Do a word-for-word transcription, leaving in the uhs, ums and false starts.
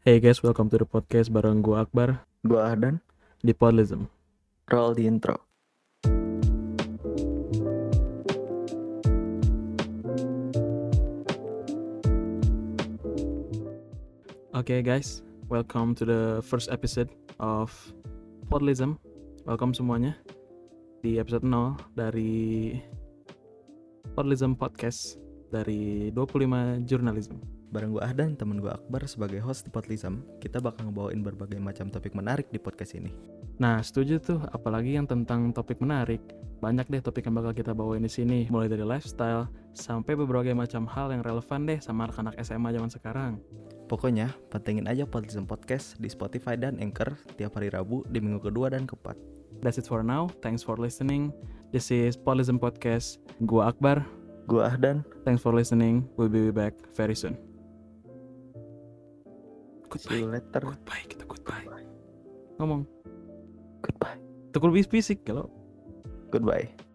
Hey guys, welcome to the podcast bareng gue Akbar Gua Ahdan, di Podlism. roll di intro. Oke guys, welcome to the first episode of Podlism. Welcome semuanya di episode nol dari Podlism Podcast dari dua puluh lima Jurnalism. Bareng gua Ahdan, temen gua Akbar sebagai host di Podlism. Kita bakal ngebawain berbagai macam topik menarik di podcast ini. Nah, setuju tuh, apalagi yang tentang topik menarik. Banyak deh topik yang bakal kita bawain di sini, mulai dari lifestyle sampai berbagai macam hal yang relevan deh sama anak-anak S M A zaman sekarang. Pokoknya, pantengin aja Podlism Podcast di Spotify dan Anchor tiap hari Rabu di minggu kedua dan keempat. That's it for now. Thanks for listening. This is Podlism Podcast. Gua Akbar. Gua Ahdan. Thanks for listening. We'll be back very soon. See you Goodbye. later. Goodbye. Kita goodbye. Ngomong. Goodbye. Tekul bis fisik kalau. Goodbye.